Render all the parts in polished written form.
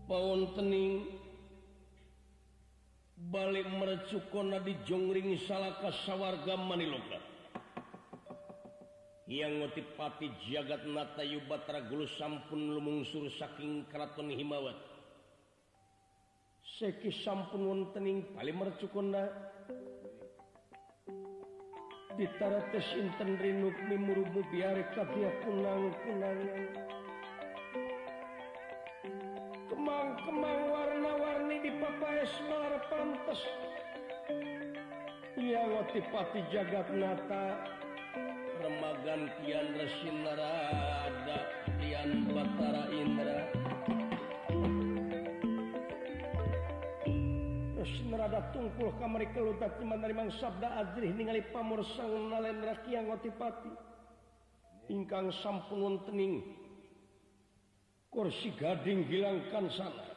Pauntening balik merecukona di jongring salaka sawarga Maniloka yang ngotipati jagat nata Yubatra Gulu sampun lumungsur saking keraton Himawat seki sampun wontening balik merecukona ditara tes inten rinuk mimurubu biare kadia kunang-kunangan kemang-kemang warna-warni di papaes malar pantes yang ngotipati jagat nata remagan kian resin narada kian batara indra resin narada tungkul kamari kelutat timan dari mang sabda adrih ningali pamur sang nalendra kian ngotipati ingkang sampun wontening kursi gading hilangkan sana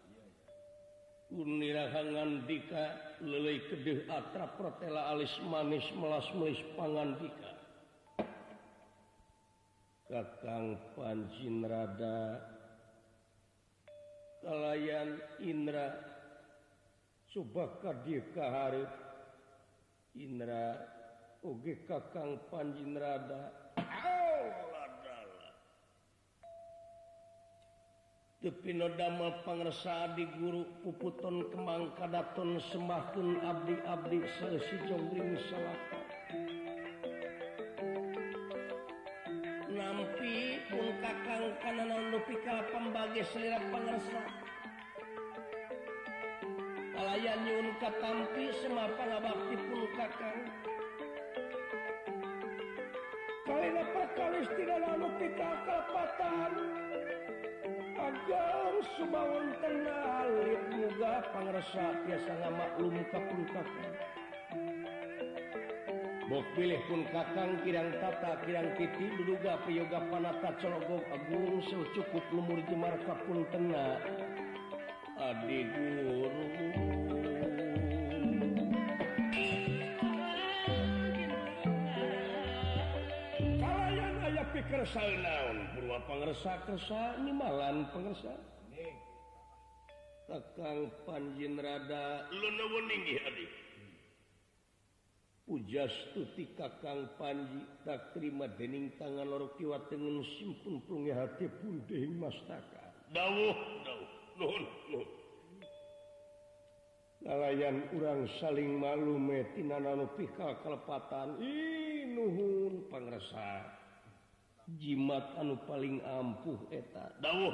unirahangan dika lelei kedeh atra protela alis manis melas melis pangandika Kakang Panjinrada kalayan Indra coba kadir kaharep Indra oge Kakang Panjinrada tepino damel pangresa di guru puputon kemang kadaton sembahkeun abdi-abdi saresi jongring salaka nampi pun Kakang kanana nepi ka pambage selera pangresa kalayan nyuwun katampi semapa ngabakti pun Kakang kalina perkalis tidak anu pika kalpatan agar sumawon tenal muga pangresa tiasa ngamaklum ka pun Kakang bok pilih pun Kakang kirang tata kirang titi duduga piyoga panata cologog agung cukup lumur jemar ka pun tena adi guru kalayan aya pikersa naon purwa pangresa kersa nimalan pangresa Kakang Panjinrada leuneuweun inggih adi pujastuti Kakang Panji tak terima dening tangan loro kiwa tengen simpun plunge hati pun dening mastaka dawuh nuhun kalayan urang saling malume tina anu pika kalepatan nuhun pangresa jimat anu paling ampuh eta dawuh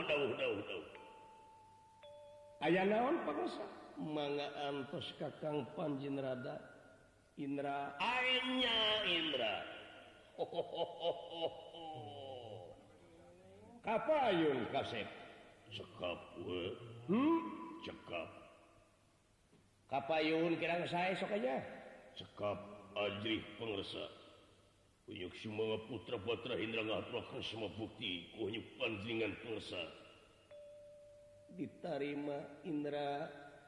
aya naon pangresa mangga antos Kakang Panjinrada Indra aenya Indra kapayun kasep cekap we cekap kapayun kirang sae sok aja cekap ajrih pangresa unyuk semua putra batra Indra ngaturakeun semua bukti ku unyuk panjingan pangresa ditarima Indra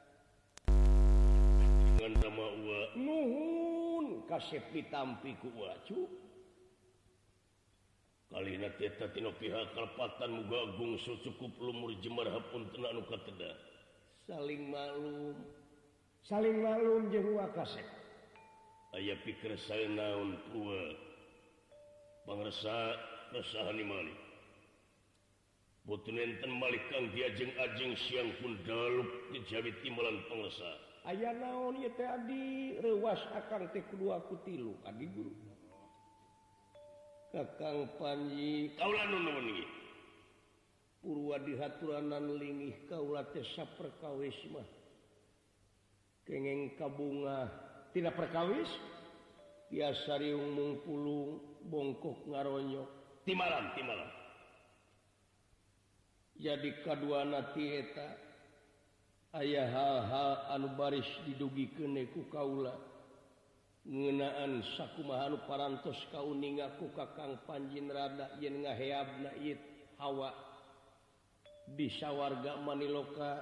sama uwa nuhun kasep ditampi ku wacu kalina teta tina pihak kalepatan muga agung cukup lumur jemar hapun tena anu kateda saling malum jeung uwa kasep aya pikir sae naon uwa pangresa kesahan imali botun enten malik kang diajeng ajeng siang pun dalup dijawi timbalan pangresa aya naon ieu teh adi rewas akang teh kedua ku tilu adi guru Kakang Panji kaula nuhun ieu purwa dihaturanan lingih kaula teh saperkawis mah kengeng kabunga tidak perkawis tiasa riung mungpulung bongkok ngaronyok timalan jadi kaduana ti eta aya hal-hal anu baris didugikeun ku kaula ngeunaan sakumaha anu parantos kauninga ku Kakang Panjinrada yen ngaheabna ieu hawa di sawarga Maniloka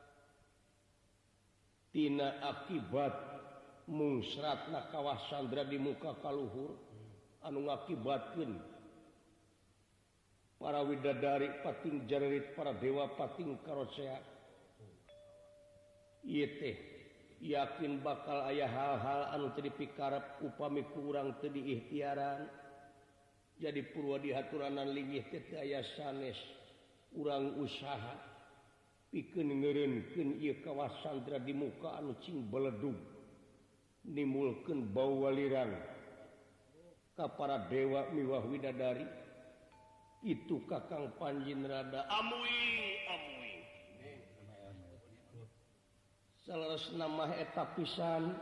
tina akibat mungsratna kawah Sandra di muka kaluhur anu ngakibatkeun para widadari pating jarerit para dewa pating karosea teh yakin bakal ayah hal-hal anu teu dipikarep upami kurang teu diikhtiaran jadi purwa dihaturanan linggih teh aya sanes urang usaha pikeun ngeureunkeun ieu kawasan di muka anu cing beledug nimulkeun bau walirang ka para dewa miwah widadari itu Kakang Panjinrada amui salerosna mah eta pisan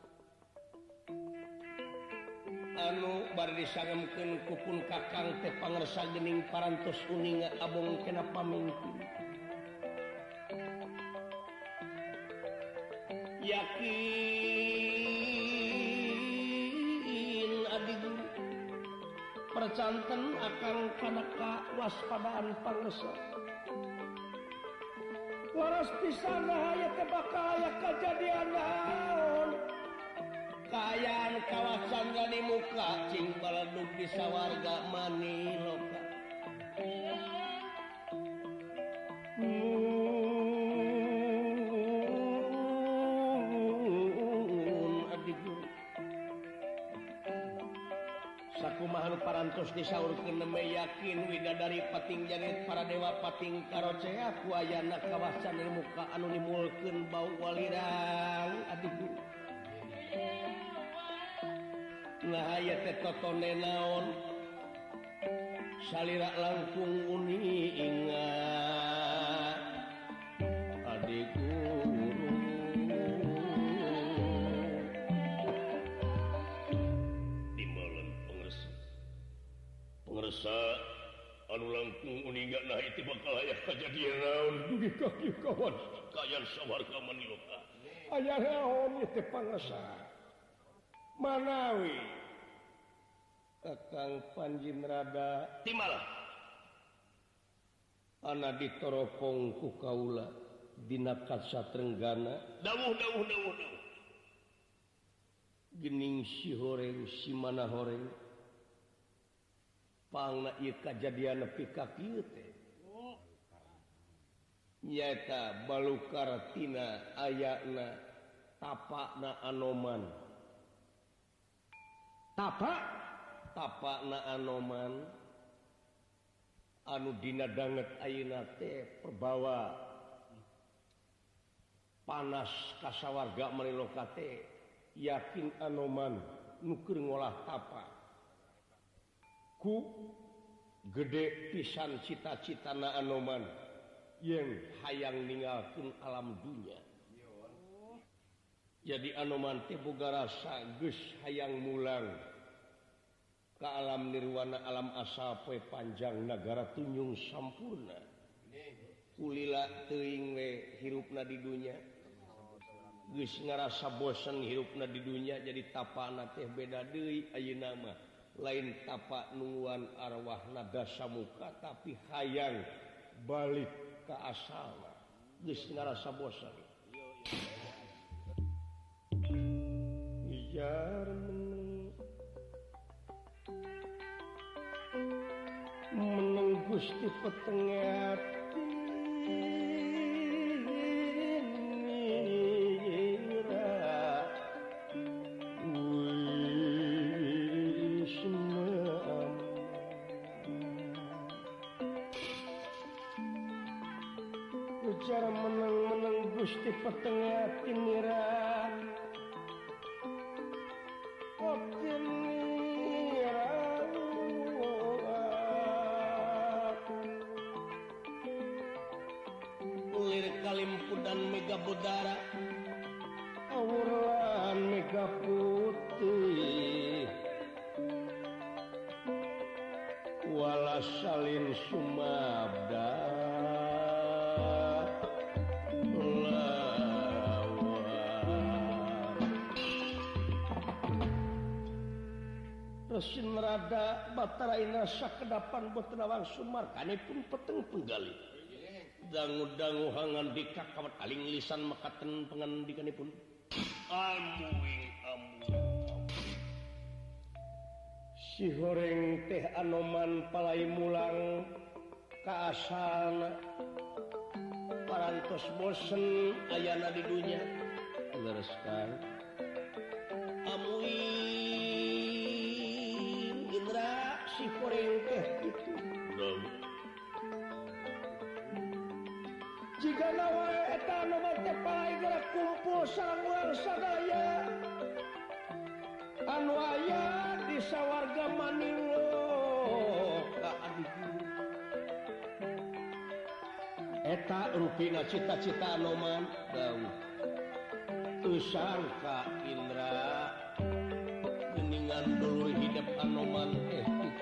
anu bari disangemkeun ku pun Kakang teh pangersa geuning parantos uning abong kena pamingpin yakin adi guru percanten akan kana kawaspadaan pangersa waras pisan aya teh bakal aya kajadian naon kaayaan kawasan di muka cing baledug di sawarga Maniloka sakumaha nu parantos disaurkeun neme yakin widadari pating jarit para dewa pating karocea ku ayana kawasan di muka anu nimulkeun bau walirang adiku nah aya teh totone naon salira langkung uningat adik guru dimeuleun pengersa anu langkung uningat nah itu bakal aya kajadian naon dugi ka kieu kawan kayan sawarga Maniloka aya naon ieu teh pangersa manawi Kakang Panjinrada timalah ana ditoropong ku kaula dina Kasatrenggana dawuh geuning si horeng si mana horeng pangna ieu kajadian nepi ka kieu teh nyaeta balukar tina ayana tapakna Anoman tapakna Anoman anu dina danget ayeuna teh perbawa panas ka sawarga Maniloka teh yakin Anoman nu keur ngolah tapak ku gede pisan cita-citana Anoman yang hayang ninggalkeun alam dunya jadi Anoman teh boga rasa geus hayang mulang ka alam nirwana alam asal poe panjang nagara tunjung sampurna kulila teuing we hirupna di dunya geus ngarasa bosen hirupna di dunya jadi tapana teh beda deui ayeuna mah lain tapak nuan arwahna dasamuka tapi hayang balik ka asalna geus ngarasa bosen ijar meneng Gusti petengat ujar meneng Gusti petengat tinira Kalimpudan mega budara awuran mega putih wala salin sumabda Resin rada batara ina sakedapan botenawang sumar kanipun peteng penggali dangu-dangu hangan dikakawat aling lisan makaten pengandikanipun amuing si horeng teh Anoman palai mulang ka asalna parantos bosen ayana di dunia lereskan amuin Indra si koreng teh itu jika nawa eta anu teh palai gerak kumpul sareng urang sadaya anu aya di sawarga Manilo ka adiku eta rupina cita-cita Anoman dawuh teu sangka Indra geuningan dulur hidup Anoman teh kitu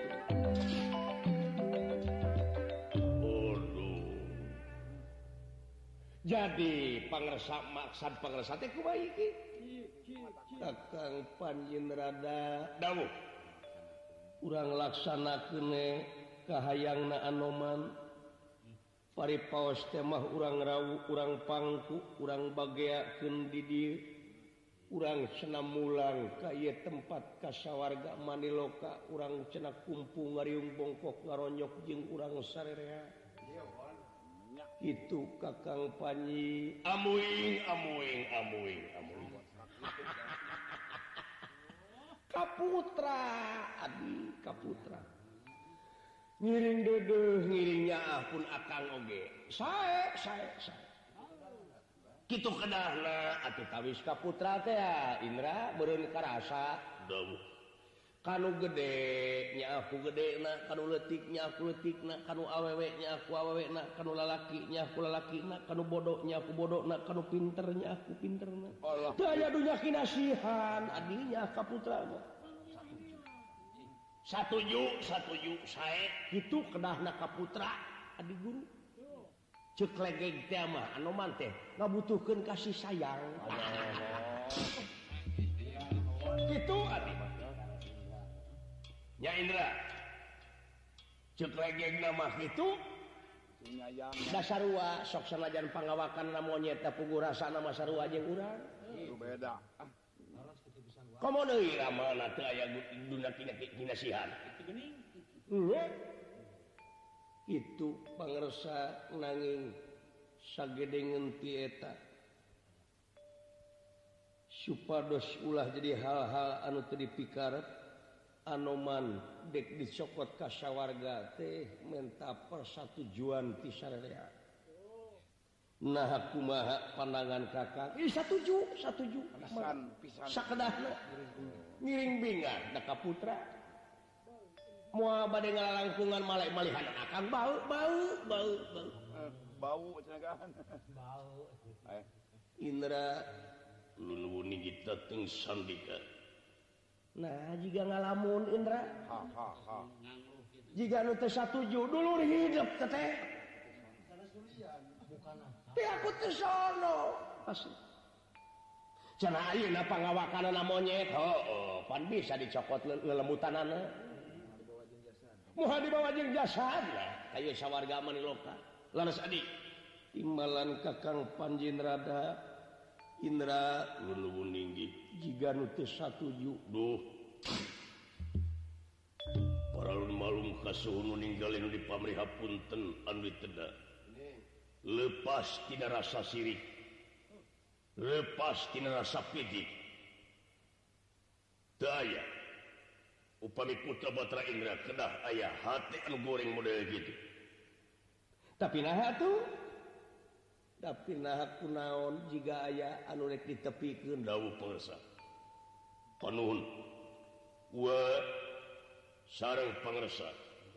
jadi pangresa maksad pangresa teh kumaha iki Kakang Panjenrada dawuh urang laksanakeun kahayangna Anoman paripaos teh mah urang rawuh urang pangku urang bageakeun di dieu urang cenah mulang ka ieu tempat kasawarga Maniloka urang cenah kumpul ngariung bongkok ngaronyok jeung urang sarerea itu Kakang Panji amuing Kaputra adi Kaputra ngiring dedeuh ngiringnya pun akang oge sae kitu kedahna atuh tawis Kaputra teh ya Indra beureun karasa dawuh kanu gede nya aku gedena kanu leutik nya aku leutikna kanu awewe nya aku awewena kanu lalaki nya aku lalakina kanu bodoh nya aku bodohna kanu pinter nya aku pinterna teu aya dunya kinasihan adinya Kaputra mah satuju sae kitu kedahna Kaputra adi guru ceuk legeg teh mah Anoman teh ngabutuhkeun kasih sayang kitu adi nya Indra ceuk legegna mah kitu dasarua sok sanajan pangawakanna monyet tapi rasana mah sarua jeung urang beda komo deui ramalna teu aya duna kinasihan itu pangersa nanging sagedengeun ti eta supados ulah jadi hal-hal anu teu dipikarep Anoman dek dicokot ka sawarga teh menta persatujuan ti sarerea nah kumaha pandangan Kakang satuju pisan sakedahna ngiring bingan da Kaputra moal bade ngalalangkungan malih-malihan akang bau cenah Indra luluwuni kita teng sandika nah jika ngalamun Indra jika nu teu satuju dulur hidup teh teh aku teh sono asli cenah ayeuna pangawakanana monyet pan bisa dicokot lelembutanana moal dibawa jeung jasadna ka ieu sawarga Maniloka laras adi timbalan Kakang Panjenrada Indra luluwun ninggih jiga nu teu satuju duh paralun malum kasuhun nu ninggalin nu dipamriha punten anu diteda lepas tina rasa sirik lepas tina rasa pidik teu aya upami putra Batra Indra kedah aya hati anu goreng model gitu tapi naha tuh tapi nah kunaon jika aya anu rek ditepikeun dawuh pangersa panuhun wa sareng pangersa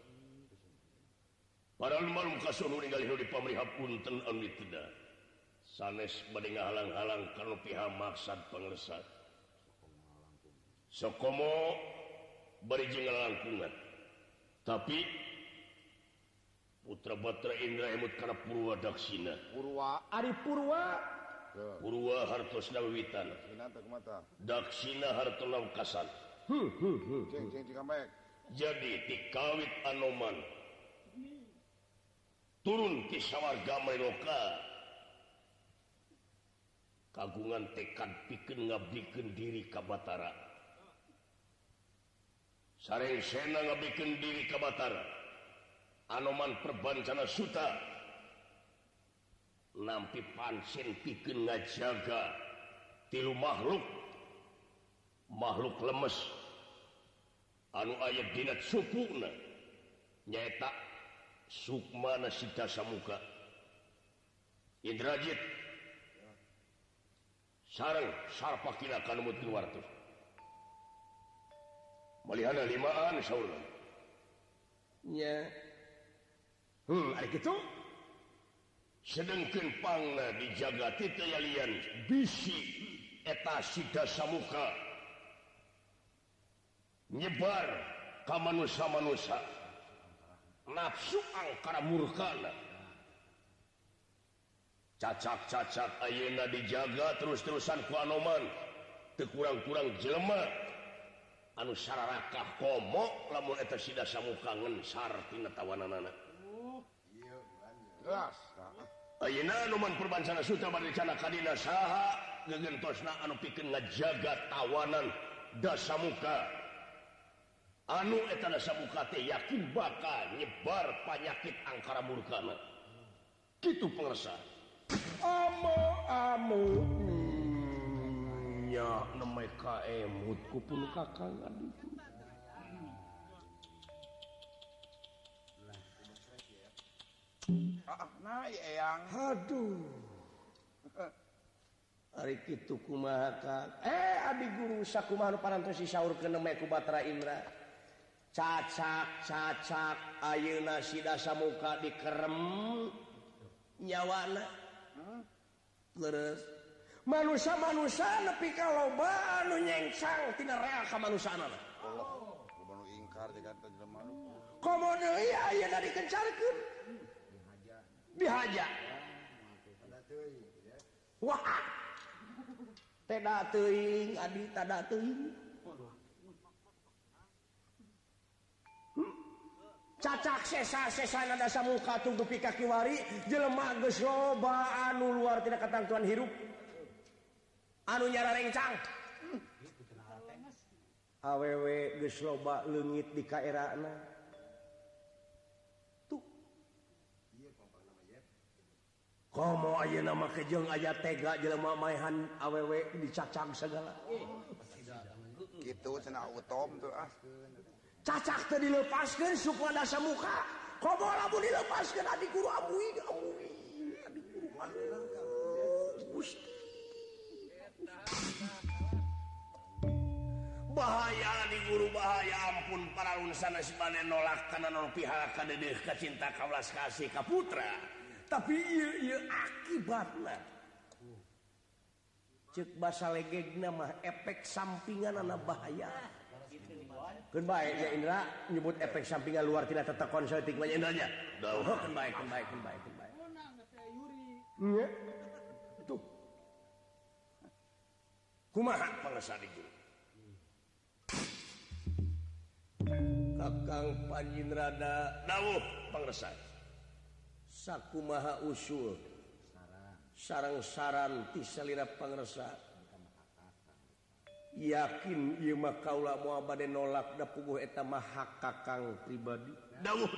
para malum kasuhun ningali nu dipamriha punten anu diteda sanes bade ngahalang-halang kana piha maksad pangersa sakomo bari jeung ngalangkungan tapi putra Batra Indra emut kana Purwa Daksina ari Purwa hartosna wiwitan Daksina hartona wekasan jadi ti kawit Anoman turun ti sawarga Maniloka kagungan tekad pikeun ngabdikeun diri ka Batara sareng sena ngabdikeun diri ka Batara Anoman perbancana suta nampi pancen pikeun ngajaga tilu makhluk lemes anu aya dina supuna nyaeta Sukmana Sita Samuka Indrajit sareng Sarpakila kanemutkeun wartos malihana limaan saurna nya ari kitu sedengkeun pangna dijaga ti teu yalian bisi eta Sita Samuka nyebar ka manusa-manusa nafsu angkara murkana cacak-cacak ayeuna dijaga terus-terusan ku Anoman teu kurang-kurang jelema anu sararakah komo lamun eta Sita Samuka ngensar tina tawananana jelas ayeuna Anoman Purbansana Suta bade dicana kadina saha gegentosna anu pikeun ngajaga tawanan Dasamuka anu eta Dasamuka teh yakin bakal nyebar panyakit angkara murkana kitu pangresa amo nya nemai ka emut kupun kakang aditu nah eyang aduh ari kitu kumaha Kang abi guru sakumaha nu parantos disaurkeun nemai ku Batra Indra cacak ayeuna si Dasamuka dikerem nyawana leres manusia nepi ka loba anu nyengsang tina rea ka manusiana Allah nu ingkar jeung ka jelema komo deui ayeuna dikencarkeun dihaja wah teda teuing adi tada teuing cacak sesa-sesana Dasamuka tunggu pika kiwari jelema geus loba anu luar tina katangtuan hirup anu nyara rencang awewe geus loba leungit di kaerana tuh komo ayeuna mah kejeung aya tega jelema maehan awewe dicacak segala kitu cenah utom tuh cacak teh dilepaskeun supaya Dasamuka komo lamun dilepaskeun adi guru amuy adi guru Gusti bahaya di guru bahaya ampun para unsana sibade nolak kana non pihak ka dedeh ka cinta ka welas kasih ka putra tapi ieu akibatna ceuk basa legegna mah efek sampinganna bahaya keun bae ya Indra nyebut efek sampingan luar tina tata konsleting mah Indra nya keun bae nya tuh kumaha pangresa di guru Kakang Panjinrada dawuh pangresa sakumaha usul sareng saran ti salira pangresa yakin ieu mah kaula moal bade nolak da puguh eta mah hak kakang pribadi dawuh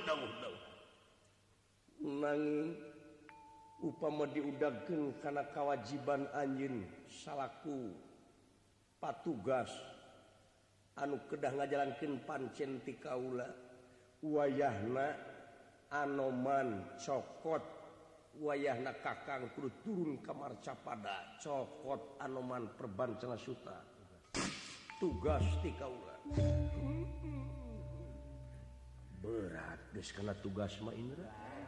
nanging upama diudagkeun kana kawajiban anjeun salaku patugas anu kedah ngajalankeun pancen ti kaula wayahna Anoman cokot wayahna kakang kudu turun ka Marcapada cokot Anoman Perbancana Suta tugas ti kaula berat geus kana tugas mah Indra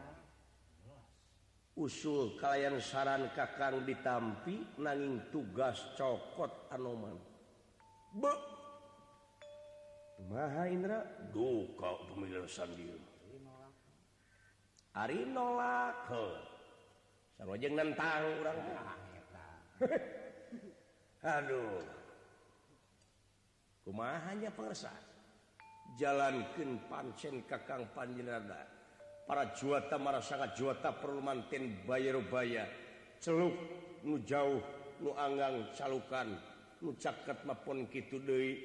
usul kalayan saran kakang ditampi nanging tugas cokot Anoman kumaha Indra duka pemilihan sandieu ari nolak sarojeng nentang urang aduh kumaha nya pangresa jalankeun pancen kakang Panjinrada para juata marasangat juata perlu manten bayar-baya celuk nu jauh nu anggang calukan nu caket mapun kitu deui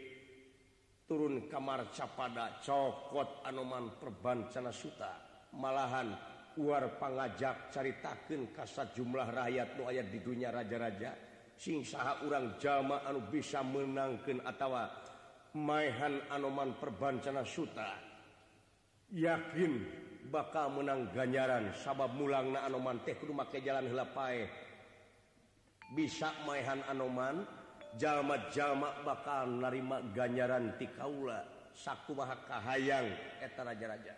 turun ka Marcapada cokot Anoman Perbancana Suta malahan war pangajak caritakeun ka sajumlah rakyat nu aya di dunia raja-raja sing saha urang jalma anu bisa menangkeun atawa maehan Anoman Perbancana Suta yakin bakal menang ganjaran sabab mulangna Anoman teh kudu make jalan heula pae bisa maehan Anoman jalma-jalma bakal narima ganjaran ti kaula sakumaha kahayang eta raja-raja.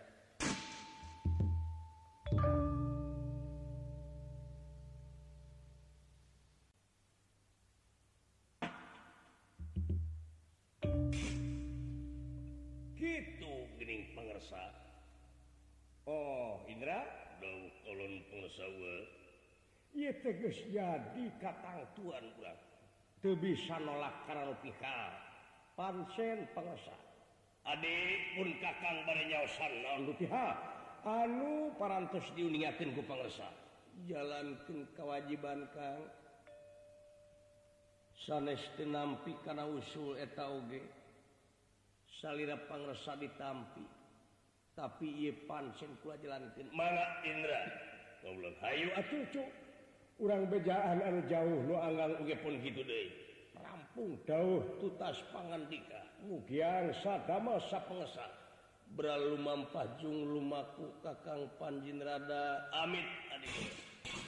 Gitu geuning pangersa. Oh, Indra, dawuh kolon pangersa we. Ieu teh geus jadi katangtuan urang. Teu bisa nolak karena pihak. Pancen pangersa. Adik pun kakang bari nyaosan naon pihak. Anu parantos diuningakeun ku pangersa. Jalankeun kewajiban Kang. Sanes teu nampi kana usul eta oge. Salira pangersa ditampi. Tapi ieu pancen kula jalankeun. Mangga Indra. Kaulah hayu atuh cu. Urang bejaan anu jauh nu anggang oge pun kitu deui. Rampung dawuh tutas pangandika. Mugian sadamel sapangersa. Beralu mampah jung lumaku Kakang Panjinrada. Amit adik.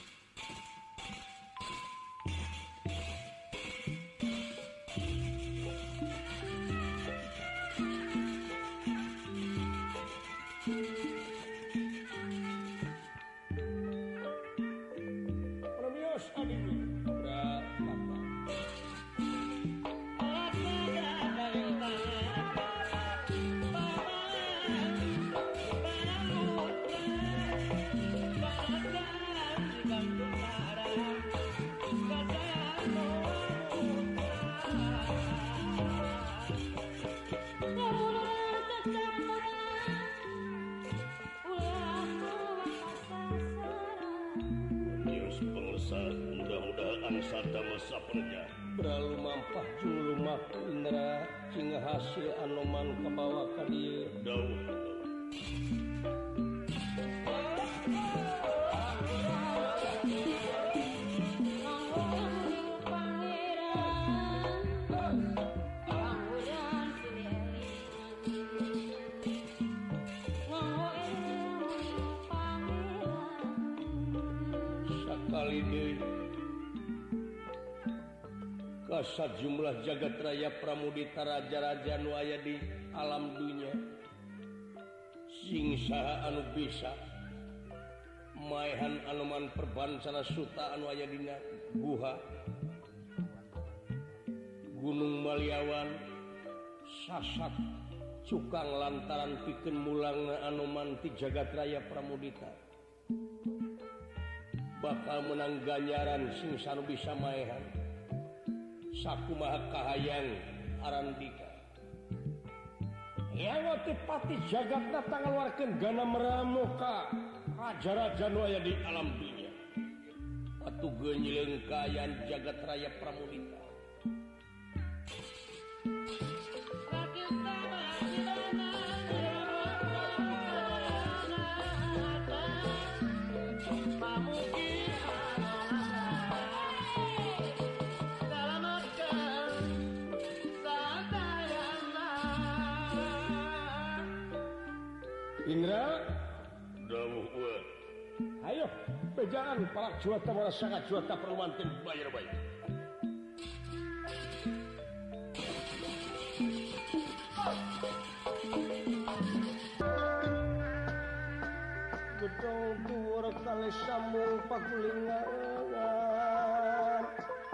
Mudah-mudahan sadamel saperja beralu mampah jung lumaku Indra sehingga hasil Anoman kabawa ka dieu dawuh. Sakali deui sajumlah jagat raya pramudita raja-raja nu aya di alam dunya sing saha anu bisa maehan Anoman Perbancana Suta anu aya dina guha Gunung Maliawan sasak cukang lantaran pikeun mulangna Anoman ti jagat raya pramudita bakal menang ganjaran sing sanu bisa maehan sakumaha kahayang arandika. Yang pati jagatna tangaluarkeun gana meramu ka raja-raja nu aya di alam dunya. Atuh geunyileung kaayaan jagat raya pramudita. Indra, dawuh we. Ayo, bejaan para juata para sangat juata permanten bayar baik. Gedong dhuwur kali sambung pakulingan.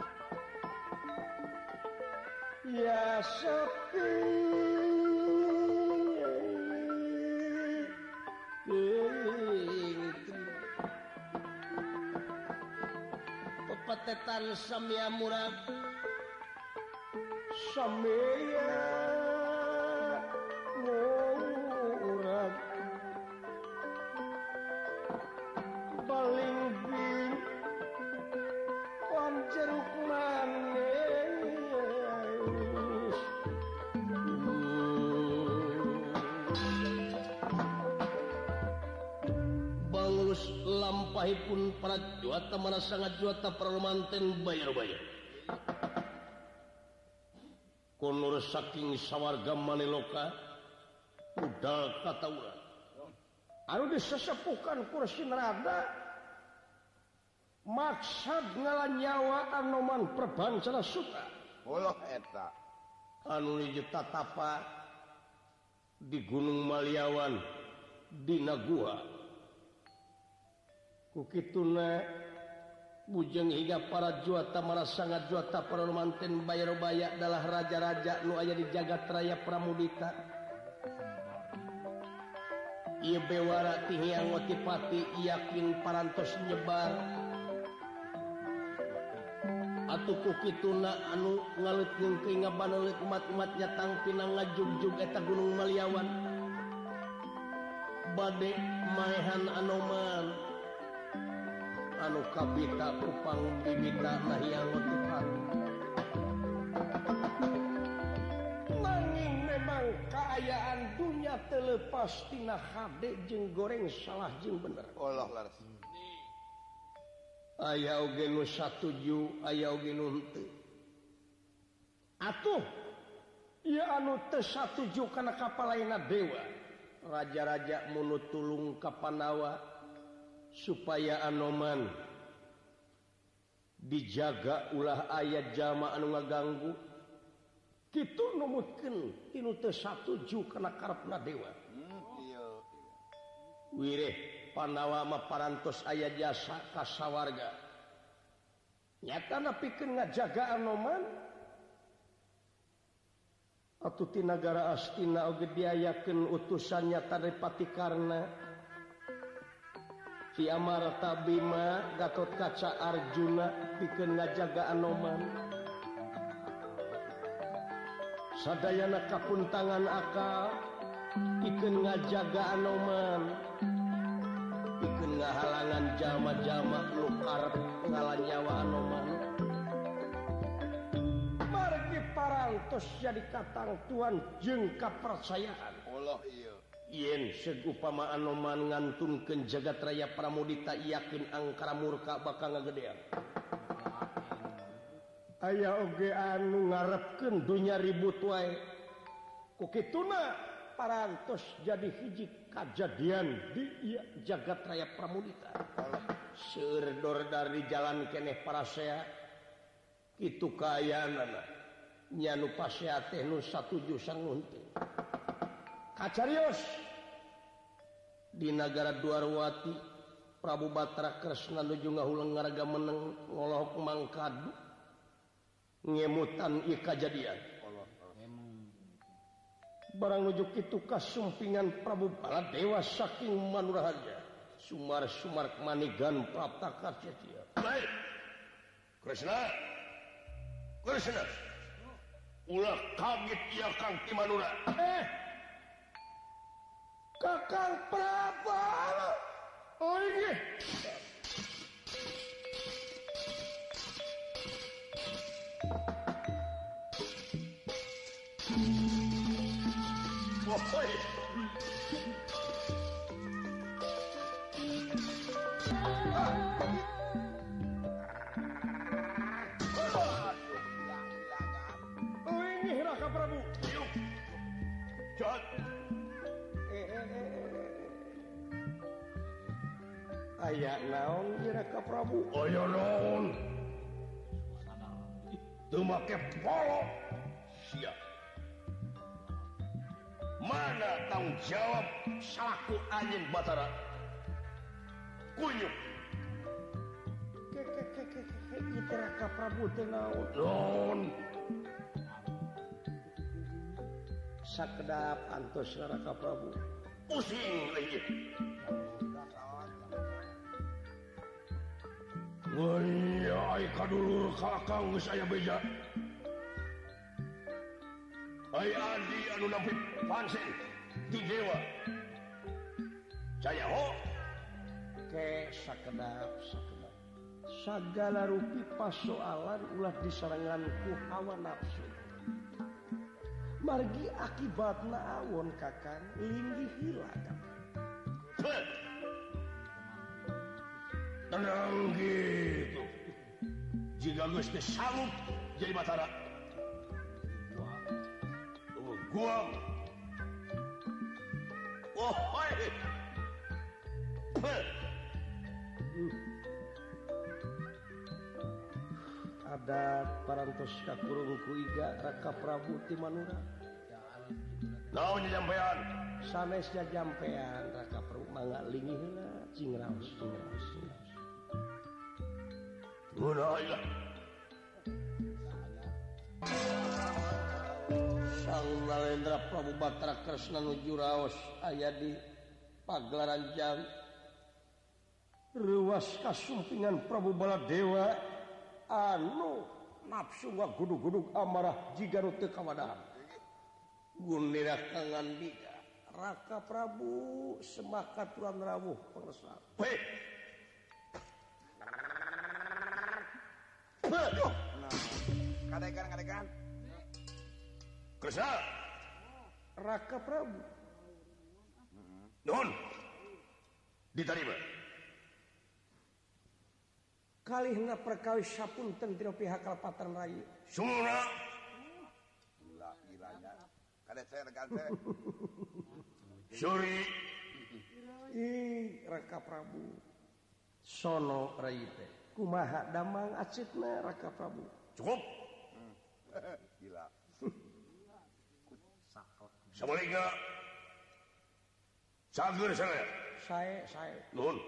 Ya sepi pepetetan samya murad samya murad baling bing panjeruk manis bang pangulus lampahipun para juata mana sangat juata parlemanten bayar-bayar. Konur saking sawarga Maniloka budal kataura. Anu disesepukan kursi nerada maksud ngalanyawa Anoman Perbancana Suta. Ulah eta. Anu dijetatapa di Gunung Maliawan dina gua. Kukituna bujeng hingga para juata mara sangat juata parlemanten bayar-baya adalah raja-raja nu aya di jagat raya Pramudita. Ieu bewara ti Hyang Otipati yakin parantos nyebar. Atuh kukituna anu ngaleutkeun ngabaneuleut umat-umatnya tangpina ngajugjug eta Gunung Maliawan. Bade maehan Anoman anu kabita upang bibita Hyang Otipati. Nanging memang kaayaan dunya teu leupas tina hade jeung goreng salah jeung bener. Allah laras. Aya oge nu satuju, aya oge nu henteu. Atuh ieu anu teu satuju kana kapalaina dewa. Raja-raja munut tulung ka Pandawa supaya Anoman dijaga ulah aya jalma anu ngaganggu. Kitu numutkeun tinu teu satuju kana karepna dewa. Iya. Wireh Pandawa mah parantos aya jasa ka sawarga. Nyatana pikeun ngajaga Anoman atuh ti nagara Astina oge diayakeun utusan nyata dari Patikarna. Ki Amarta Bima Gatotkaca Arjuna pikeun ngajaga Anoman. Sadayana kapuntangan akal pikeun ngajaga Anoman. Pikeun ngahalangan jalma-jalma nu arep ngalanyawa Anoman. Margi parantos jadi katang Tuhan jeung kapercayaan. Allah iya. Yen segupama Anoman ngantunkeun jagat raya Pramudita yakin angkara murka bakal ngagedean. Aya oge anu ngarepkeun dunya ribut wae. Kukituna parantos jadi hiji kajadian di jagat raya Pramudita. Seueur dor dari jalan keneh parasea kitu kaayaanana nya nu pasea teh nu satuju sang nu henteu. Kacarios di nagara Dwarwati Prabu Batra Kresna nuju ngahulang ngaraga meneng ngolohok mangkadu ngemutan ieu kajadian. Barang nuju kitu kasumpingan Prabu Baladewa saking manurahaja sumar-sumar manigan prapta cia-cia. Baik. Kresna. Ulah kaget ieu Kang Timanura. Kakang Prabu. Oh ini. Woi. Oh ini Raka Prabu. Yuk. Jat. Aya naon ieu Raka Prabu? Aya naon? Teu make polo. Siap. Mana tanggung jawab salaku anjeun Batara? Kunyuk. Kita Raka Prabu teh naon? Sakedap antos Raka Prabu. Pusing leungit. Woi, ai kadulur kakang geus aya beja. Ai adi anu nampi pansen di dewa. Jaya ho. Ke sakedap. Sagala rupi pasoalan ulah disarangan ku hawa nafsu. Margi akibatna awon kakang linggih hilang. tenang gitu. Jika geus teh sanggup jadi Batara. Guam. Oh, hoi. Ada parantos kakurung kuiga Raka Prabu ti Manura. Naon nyampean? Sanesnya jampean Raka Prabu mangga linggih heula cingraos. Munaya. Sang Nalendra Prabu Batara Kresna nuju raos aya di pagelaran jang ruas kasumpingan Prabu Baladewa anu nafsu ngagudug-gudug amarah jiga nu teu kawadaan. Gunira kangandika Raka Prabu semakaturan rawuh pangresa. Hei. Kadekan. Kresna. Raka Prabu. Nuhun. Diterima. Kalihna perkawis sapunten tina pihak Kalpataran Raya. Sumuna. Gila-gilanya. Kade saya rekan teh. Suri. Raka Prabu. Sono Rai teh. Kumaha damang acitna Raka Prabu. Cukup. Gila. Sabalika. Sager saya. Saya. Nuhun.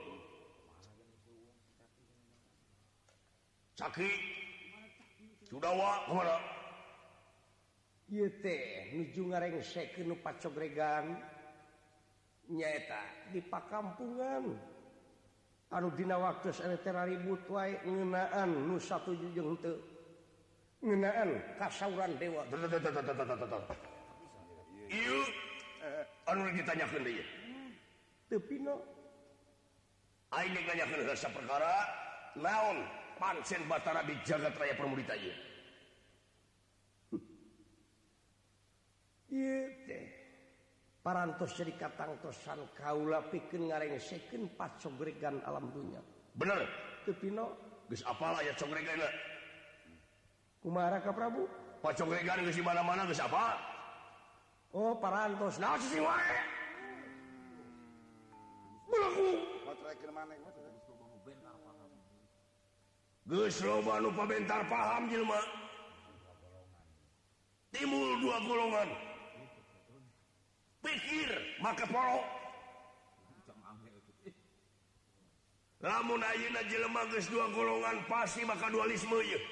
Caki. Sudawa kemana? Ieu teh nuju ngarengsekeun nu pacogregan nyaeta di pakampungan. Anu dina waktos anu teh ribut wae ngeunaan nu satuju jeung henteu. Ngeunaan kasauran dewa. Ieu anu ditanyakeun deui. Teu pino. Aing nanyakeun heula saperkara naon pancen Batara di jagat raya Permudita ieu. Ieu teh parantos jadi katangtosan kaula pikeun ngarengsekeun pacogregan alam dunya. Bener. Teu pino geus apal aya cogreganna. Kumaha Raka Prabu? Pacogregan geus di mana-mana geus apal. Oh, parantos. Naon sih wae? Belaku. Motrekeun maneh. Geus loba nu pabentar paham jelema. Timbul dua golongan. Pikir make poro. Lamun ayeuna jelema geus dua golongan pasti maka dualisme ieu.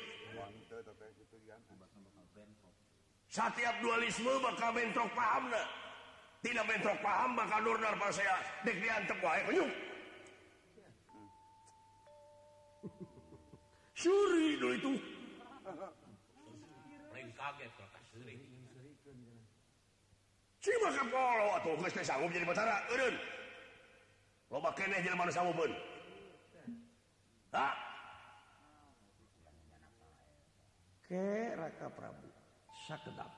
Setiap dualisme bakal bentrok pahamna. Tina bentrok paham bakal durdar pasea dek diantep wae kunyuk. Suri dulu itu. Lain kaget kalau kasuri. Si maka polo atuh geus teh sanggup jadi Batara, eureun. Loba keneh jelema nu sanggupeun. Ha? Ke Raka Prabu sakedap.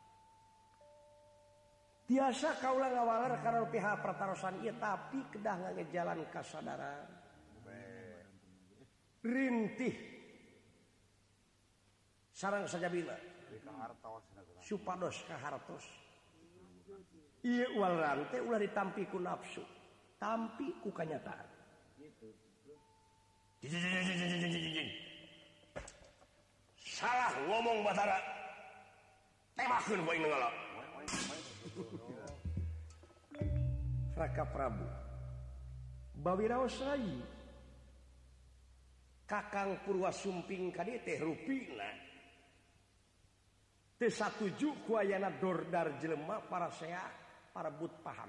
Tiasa kaula ngawaler karena pihak pertarosan ieu tapi kedah ngagejalan kasadaran. Rintih sareng sajabina supados kahartos ieu ulah teh ulah ditampi ku nafsu tampi ku kanyataan salah ngomong Batara tembakeun ku aing nenggala. Raka Prabu bawiraos rai Kakang Purwasumping kadieu teh rupina teu satuju ku ayana dordar jelema para sea para but paham.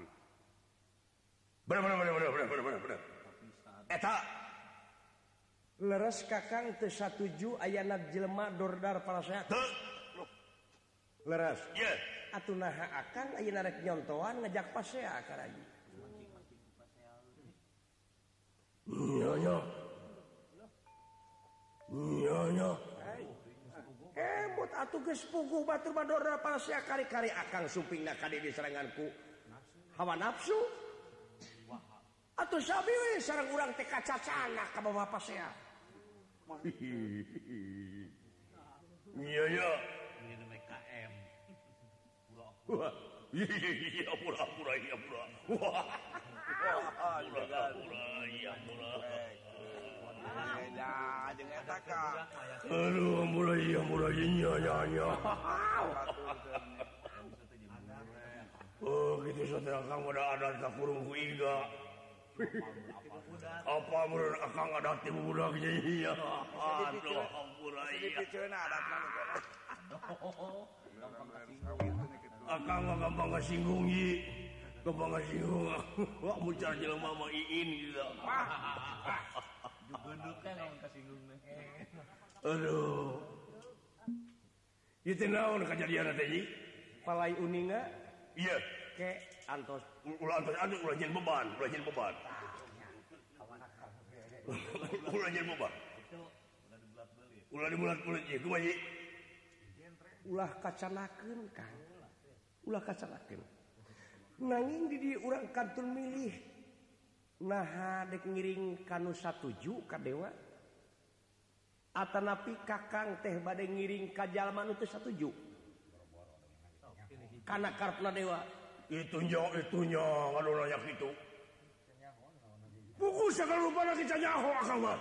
Bener. Eta leres Kakang teu satuju ayana jelema dordar para sea. Teu. Leres. Ye. Yeah. Atuh naha akang ayeuna rek nyontoan ngajak pasea ka rayi. Nyonya. Mut atuh geus puguh batur badorna pasea kari-kari akang sumpingna kade diseranganku hawa nafsu. Atuh sabi we sareng urang teh kacacana ka bapak saya. Iya ya. Ini namanya KM. Wah, iya pura-pura iya pura. Wah, pura-pura iya pura. Beda jeung eta ka. Aduh, mulai iya nya. Oh, gitu saudara Kang udah ada tak kurung ku iga. Apa menurut Akang ada ti budaknya iya. Aduh, ampura iya. Diceuna adatna nu kana. Akang mah gampang kasinggung ieu. Gampang kasinggung. Wah, mucar jelema mah iin gitu. Jugunduk kan ngomong kasinggung teh. Aduh. Ieu teh naon kajadian teh ieu? Palai uninga Iya. ke antos Ulah jen beban. Ulah jen beban. Ulah dibulat-bulat ieu kumaha ieu? ulah kacanakeun Kang. Ulah kacanakeun. Nanging di dieu urang kantun milih naha dek ngiring kanu satuju ka dewa. Atanapi Kakang teh bade ngiring ka jalma nu teu satuju. Kana karepna dewa. Itunya anu nanya kitu. Buku sakalupana kita nyaho Akang mah.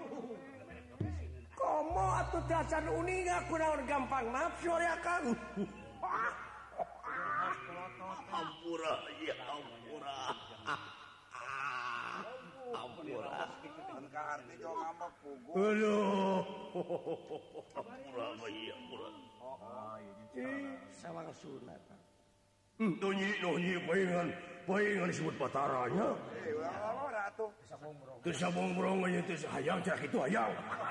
Komo atuh teh acan uninga kunaon gampang nafsu ari Akang. Ampura, iya ampura. Ampura. Mun ka arti jo ngambek pugu. Aduh. Ampura, iya ampura. Sawang sunat. Nonyi, paingan disebut pataranya. Urang atuh. Teu sabong brongnya teu hayang cak itu hayang.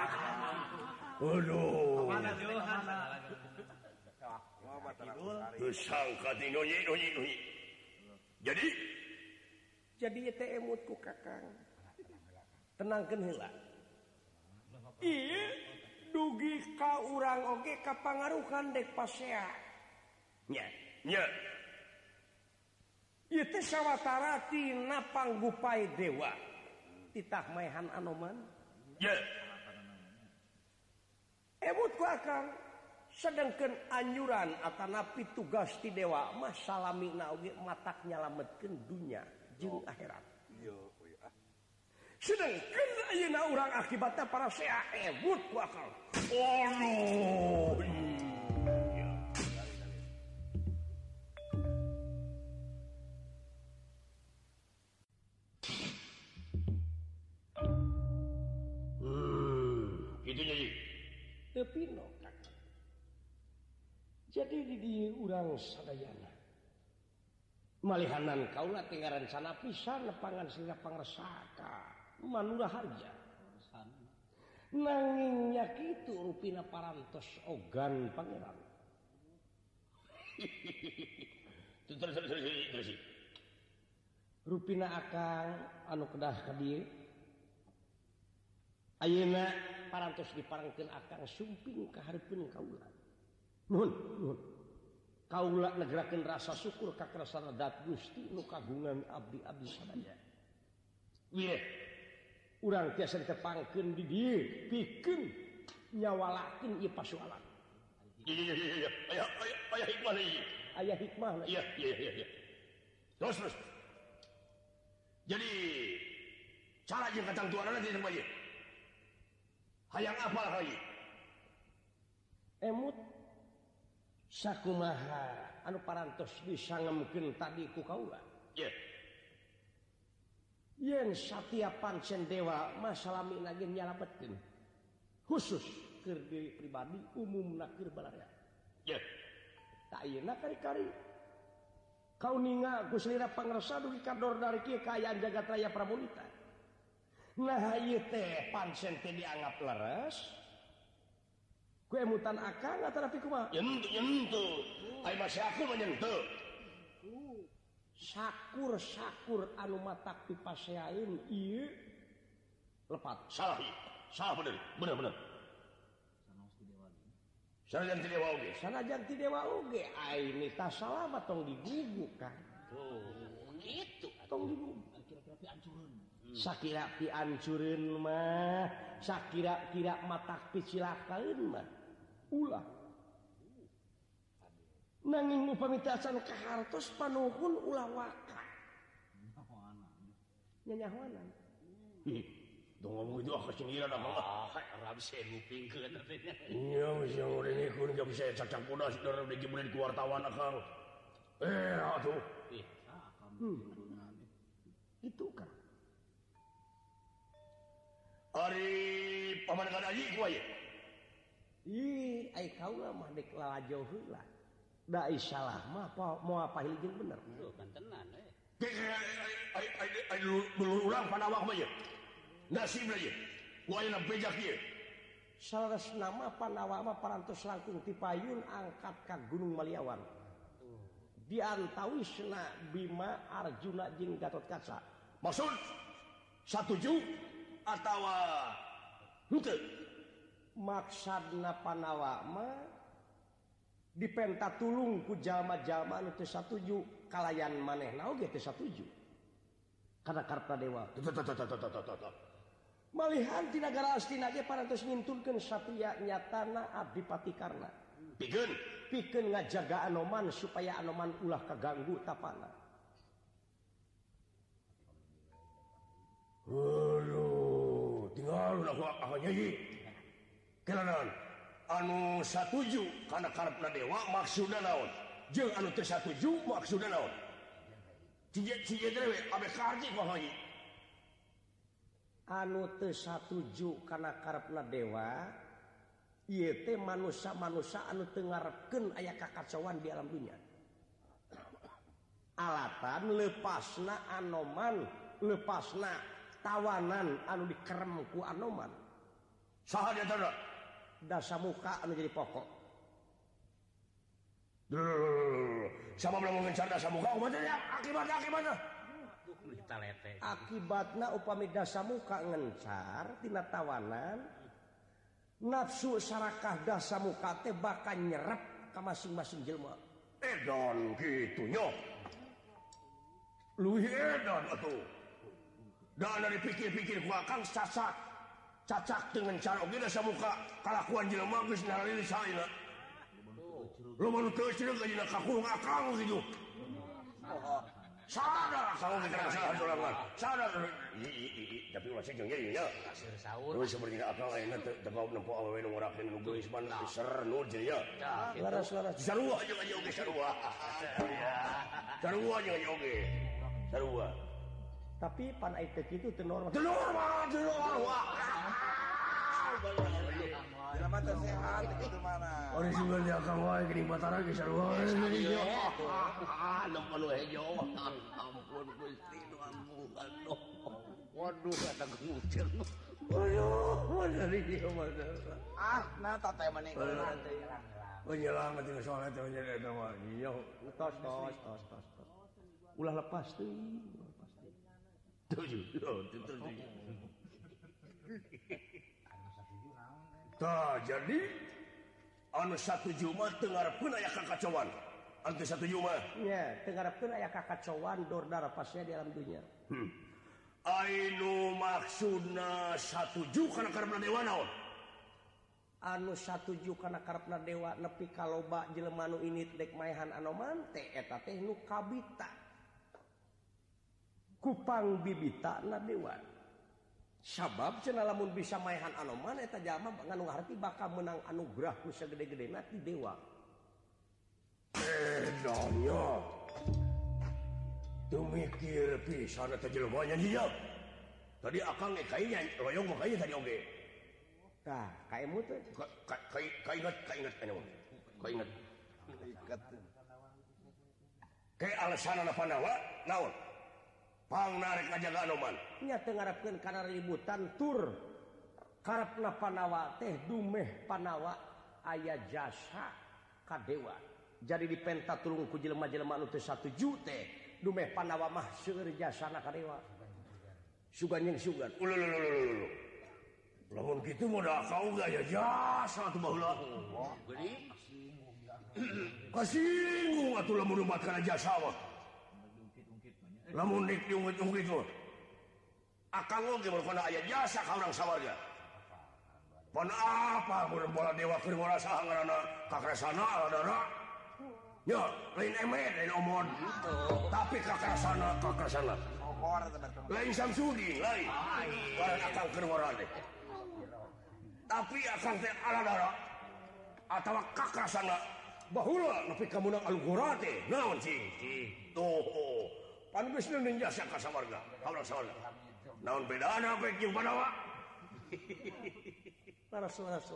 Aduh. Mana Johan? Mau bataran hari. Teu sangka ti nonyi. Jadi teh emut ku Kakang. Tenangkeun heula. Ieu dugi ka urang oge kapangaruhan dek pasea. Nya. Ieu teh sawatara tina panggupai dewa. Titah maehan Anoman. Ya. Emut ku Akang sedengkeun anyuran atanapi tugas ti dewa mah salamina oge matak nyalametkeun dunya jeung akhirat. Iya, Sedengkeun ayeuna urang akibatna para sea emut ku Akang. Oh. Gitu nyanyi. Teu pino Kakang. Jadi di dieu urang sadayana. Malihanan kaula teh ngarancana pisan nepangan sira pangresaka manura harja. Nanging nya kitu rupina parantos ogan pangeran. Terus. Rupina Akang anu kedah ka dieu. Ayeuna parantos diparengkeun Akang sumping ka hareupeun kaula. Nuhun. Kaula negerakeun rasa syukur ka kersana Dat Gusti nu kagungan abdi-abdi sadaya. Wileh urang tiasa ditepangkeun di dieu pikeun nyawalakeun ieu pasoalan. Iya. Aya hikmah ieu. Aya hikmahna. Iya. Terus. Jadi cara jeung kacang tuanana teh teu ieu. Hayang apal hayu. Emut sakumaha anu parantos disangemkeun tadi ku kaula. Ye. Yen satia pancen dewa masalamina ge nyalametkeun. Khusus keur diri pribadi umumna keur balarea. Ye. Tak ayeuna kari-kari kauninga Gusti Lira pangresa dugi kador dari kieu kaayaan jagat raya Pramonita. Nah ieu teh pancen teh dianggap leres. Ku emutan Akang atanapi kumaha? Nyentuh. Ai masih aku mah nyentuh. Sakur anu matak pipaseaeun ieu lepat. Salah bener. Sanajan ti dewa oge. Sanajan ti dewa oge ai nita salah tong diguguk kan. Oh, gitu. Tong diguguk. sakira piancureun mah sakira-kira mata picilakaeun mah ulah nanging upami tasan kahartos panuhun ulah waka nyanyahoanan dong ngomong itu aku sendiri dah mah Arab saya ngupingkeun iya bisa ngurengikeun gak bisa cacak kuda saudara udah jemulin ke wartawan akang atuh itu kan Ari paman kadaji ku aya. Ih, ai kaula mah dek lalajo heula. Da salah mah mau apa hiljeun bener. Tuh kan tenan Ai dulu urang panawak mah ye. Nasib ye. Ku aya bejak ye. Salasna mah panawak mah parantos langkung ti payun angkat ka Gunung Maliawan. Diantawisna Bima, Arjuna jeung Gatotkaca. Maksud satuju atawa henteu maksudna Panawa mah dipenta tulung ku jalma-jalma anu teu satuju kalayan manehna oge teu satuju kana karta dewa malihan ti nagara Astina ge parantos ngintulkeun satria nyatana abdi patikarna pikeun ngajaga Anoman supaya Anoman ulah kaganggu tapana. Tinggal aku nyanyi kelanaon anu satuju karena karepna dewa maksudna naon jeung anu teu satuju maksudna naon cije dewe abe karji kok nyanyi anu teu satuju kana karepna dewa ieu teh manusia-manusia anu teu ngarepkeun aya kakacauan di alam dunia alatan lepasna Anoman lepasna tawanan anu dikerem ku Anoman saha di antara Dasamuka anu jadi pokok sama belum ngencar Dasamuka umatnya akibatnya akibatna upami Dasamuka ngencar tina tawanan nafsu sarakah Dasamuka teh bakal nyerep ka masing-masing jelema edan kitu nya luwih edan atuh dan dari pikir-pikir ku akang cacak dengan cara oge Dasamuka kalakuan jelema geus nalili saena lu manu teu cenah ka kakurung akang kitu sadar akang geus salah dolangan sadar tapi ulah sejeng nya terus sebenarnya akang ayeuna teu nempo awewe nu ngorakeun nu geus man ser nu jeung ya laras-laras sarua jeung aja oge sarua jeung aja oge sarua tapi pan aya teh kitu teu normal jelema teh sehat itu mana ori sumber di akang wae geuning batara ge sarua anu anu hejo ampun Gusti nu ampungan waduh kata ngucil dari dia mana nah tata mani penyelang teh soalna teh jadi eta mah iya tos ulah lepas teuing jadi anu satuju mah teu ngarepkeun aya kakacauan anu teu satuju mah nya teu ngarepkeun aya kakacauan dordar pasnya di alam dunia ainu maksudna satuju kana karepna dewa naon anu satuju kana karepna dewa nepi ka loba jelema nu ini dek maehan Anoman teh eta teh nu kabita kupang bibitana dewa sabab cenah lamun bisa maehan Anoman eta jalma nganu ngarti bakal menang anugerah ku sagede-gedena ti dewa edanya teu mikir pisan eta jelema nya dia tadi akang ge kayaknya loyong mah kayaknya tadi oge tah kaemu teh kainget anu kainget kayak alasanana Pandawa naon pang narik ngajaga Anoman nya teu ngarepkeun kana ributan tur karepna Panawa teh dumeh Panawa aya jasa ka dewa jadi dipenta tulung ku jelema-jelema anu teu satuju teh dumeh Panawa mah seueur jasana ka dewa sugan jeung sugan lamun kitu mah da kau gaya jasa atuh baheula kasinggung atuh lamun umat kana jasa mah lamun dik diungkit-ungkit mah Akang oge mun aya jasa ka urang sawarga. Pon apa mun bola dewa keur bola saha ngaranna kakresana aladana. Ya, lain emet, lain omon. Tapi kakresana. Lain Samsudi, lain. Barang akang keur bola teh. Tapi akang teh aladana atawa kakresana baheula nepi ka munang alugora teh. Naon cing? Tuh. Pan geus neuning jasa ka sawarga, ka urang sawarga. Naon bedana pek jeung Padawa? Laras.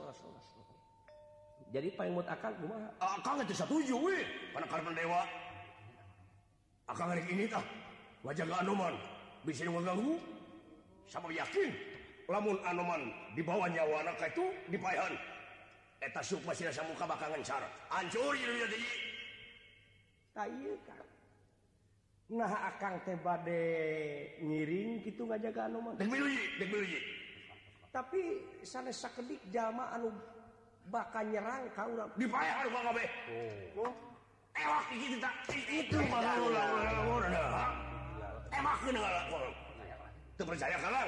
Jadi paimut akang kumaha? Akang teh satuju we, kana karepan dewa. Akang rek ini tah ngajaga Anoman bisa ngaganggu. Sama yakin lamun Anoman dibawa nyawana ka itu dipaehan. Eta sukma sira samuka bakal ngencar. Hancur ieu teh. Ka ieu kan. Nah akang teh bade ngiring kitu ngajaga Anoman. Dek miluji. Tapi sanes sakedik jalma anu bakal nyerang ka urang dipaehan ka kabeh. Ewak kitu tah. Itu malah emakkeun ngalakon. Teu percaya kalang.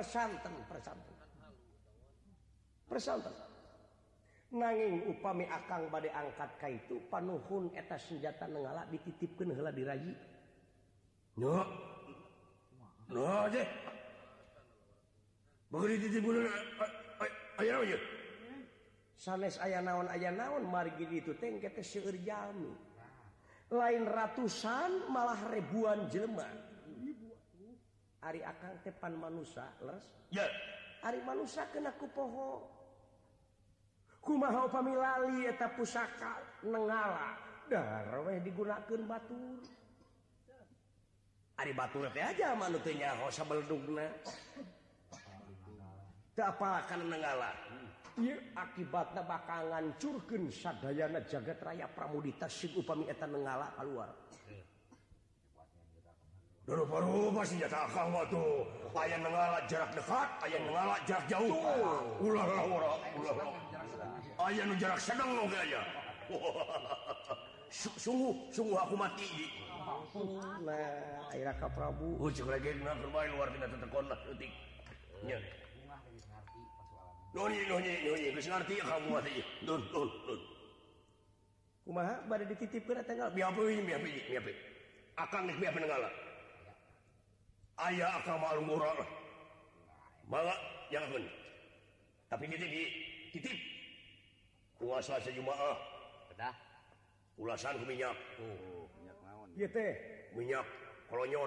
Persanten. Nanging upami akang bade angkat ka itu panuhun eta senjata nenggala dititipkeun heula di rayi. No aja. Bagri dititipkeun aya naon ye? Sanes aya naon margi ditu teh engke teh seueur jalmi. Lain ratusan malah ribuan jelema. Ari akang teh pan manusia leres? Ya. Ari manusia kena ku poho. Kumaha upami lali eta pusaka nenggala dar we digunakeun batur. Ari batur teh aja manu teu nyaho sabeldugna. Teu apa kana nenggala. Ieu akibatna bakal ngancurkeun sadayana jagat raya Pramudita sig upami eta nenggala kaluar. Rupa-rupa senjata akang mah tuh. Aya nenggala jarak dekat, aya nenggala jarak jauh. Ulah. Aya nu jarak sedang oge aya. Sungguh aku mati. Nah, ayeuna ka Prabu. Cek legena keur bae luar tina tetekon lah leutik. Nya. Nonyi, geus ngarti kamu mah teh. Dun. Kumaha bade dititipkeun eta nenggala? Miapi. Akang geus miapi nenggala. Aya akang mah alungura. Mangga jangakeun. Tapi titip. Puasa sejumaah. Kedah. Ulasan ku minyak. Minyak naon? Ieu teh Minyak kolonyon.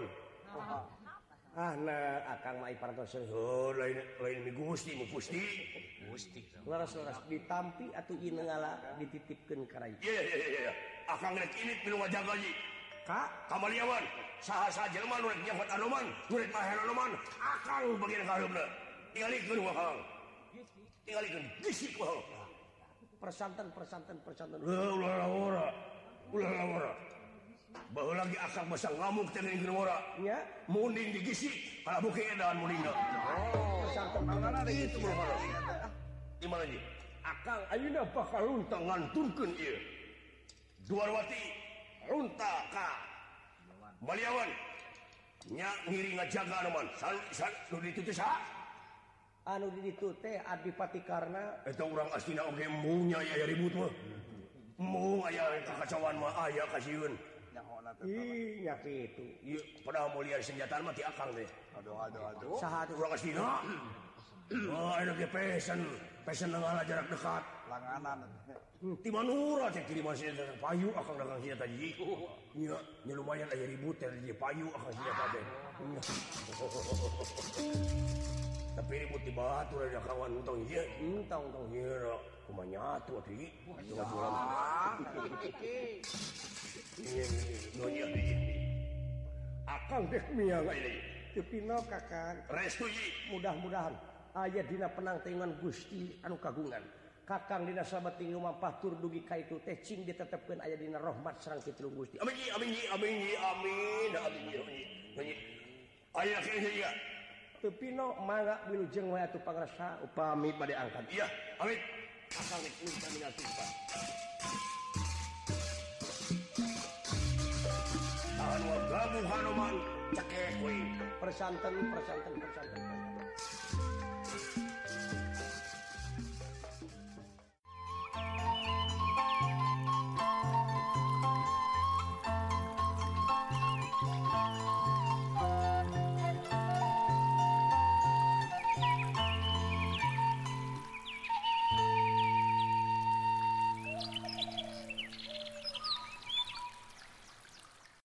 nah akang mah iparatna Lain mi Gusti, mu Gusti. laras ditampi atuh ieu nenggala dititipkeun ka rayi. Iya. Akang rek init minu ngajaga ji. Ka Kamaliawan, saha jelema nu rek nyangkut Anoman, nu rek mahen Anoman, akang bagian kareupna. Tingalikeun ku akang. Tingalikeun gisik ku akang. persanten. Ulah lawara. Baheula lagi akang basa ngamuk teh ningkeun wara. Nya, Munding digisik, kala buke edan mundingna. persanten. Itu berhala. Di mana ji? Akang ayeuna bakal luntang nganturkeun ieu. Duarwati runta ka Baliawan. Nya ngiri ngajaga Anoman. San nu ditu teh saha? Anu di ditu teh Adipati Karna. Eta urang astina oge munya aya ribut mah. Mung aya kakacauan mah aya kasieun. Nyahona teh. Ih, nya kitu. Ieu padahal mulia senjataan mah ti akang teh. Aduh. Saha tuh? Urang astina. Aya ge pesen nenggala jarak dekat. Langanan. Ti manura teh kiriman senjata payu akang dagang senjata ji. Nya lumayan aya ribut teh ji payu akang senjata teh. Tapi ribut di batur ada kawan tong ieu. Tong. Ieu kumaha nyatu atuh. Jualan. Iya. Akang deh miang ini. Tepino kakang. Restu ji. Mudah-mudahan aya dina penangtingan Gusti anu kagungan. Kakang dina sabating mampah tur dugi ka itu teh cing ditetepkeun aya dina rahmat sareng pitulung Gusti. Amin. Aya kieu ya. Tepino mangga wilujeng wae atuh pangrasa upami bade angkat. Iya, amin. Akang nek minta mina sumpah. Anu gabu Hanuman cekek we. persanten